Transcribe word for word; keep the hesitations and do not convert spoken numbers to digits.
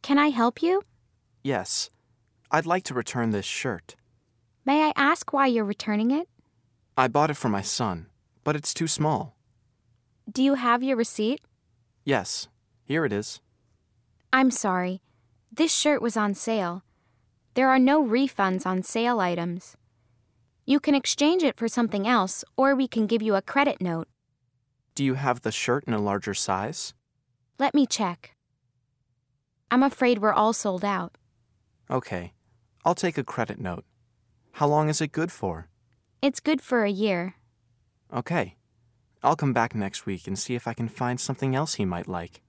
Can I help you? Yes. I'd like to return this shirt. May I ask why you're returning it? I bought it for my son, but it's too small. Do you have your receipt? Yes. Here it is. I'm sorry. This shirt was on sale. There are no refunds on sale items. You can exchange it for something else, or we can give you a credit note. Do you have the shirt in a larger size? Let me check. I'm afraid we're all sold out. Okay. I'll take a credit note. How long is it good for? It's good for a year. Okay. I'll come back next week and see if I can find something else he might like.